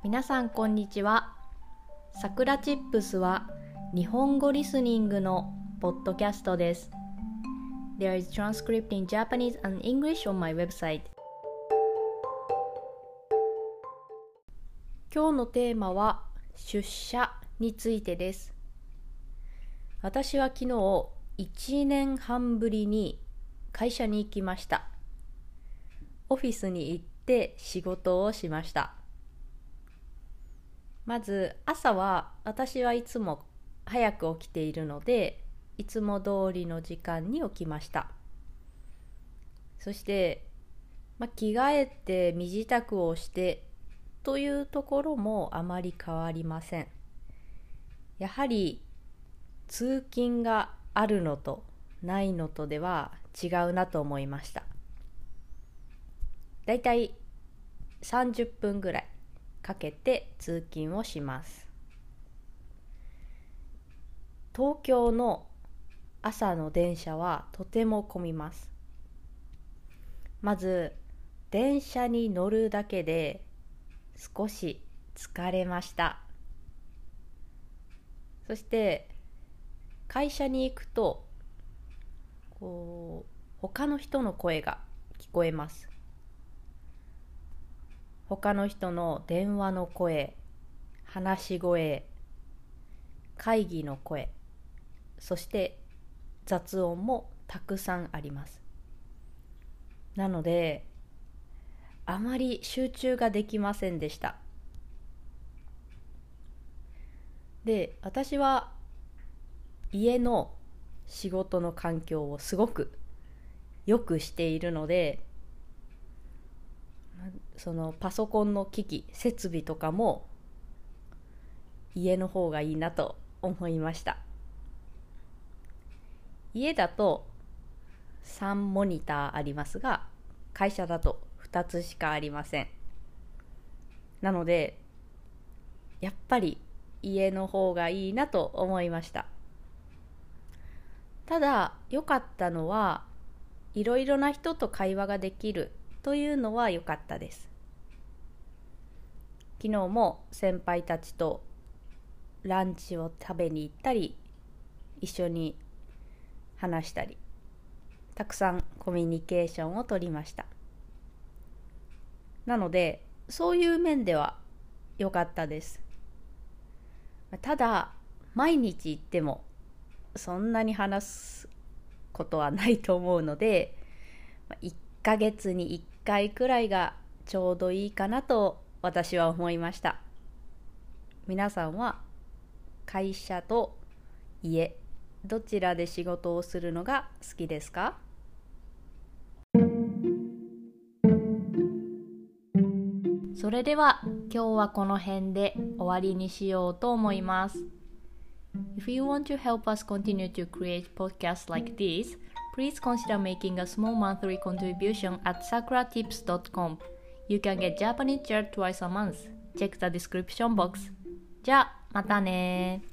皆さんこんにちは。さくらチップスは日本語リスニングのポッドキャストです。There is transcript in Japanese and English on my website. 今日のテーマは出社についてです。私は昨日1年半ぶりに会社に行きました。オフィスに行って仕事をしました。まず朝は私はいつも早く起きているので、いつも通りの時間に起きました。そして、着替えて身支度をしてというところもあまり変わりません。やはり通勤があるのとないのとでは違うなと思いました。だいたい30分ぐらいかけて通勤をします。東京の朝の電車はとても混みます。まず電車に乗るだけで少し疲れました。そして会社に行くと他の人の声が聞こえます。他の人の電話の声、話し声、会議の声、そして雑音もたくさんあります。なのであまり集中ができませんでした。で、私は家の仕事の環境をすごくよくしているので、そのパソコンの機器、設備とかも家の方がいいなと思いました。家だと3モニターありますが、会社だと2つしかありません。なのでやっぱり家の方がいいなと思いました。ただ良かったのはいろいろな人と会話ができるというのは良かったです。昨日も先輩たちとランチを食べに行ったり、一緒に話したり、たくさんコミュニケーションを取りました。なのでそういう面では良かったです。ただ毎日行ってもそんなに話すことはないと思うので、1ヶ月に1回くらいがちょうどいいかなと私は思いました。皆さんは会社と家、どちらで仕事をするのが好きですか？それでは今日はこの辺で終わりにしようと思います。If you want to help us continue to create podcasts like this, please consider making a small monthly contribution at sakuratips.com. You can get Japanese chat twice a month. Check the description box. じゃあまたね。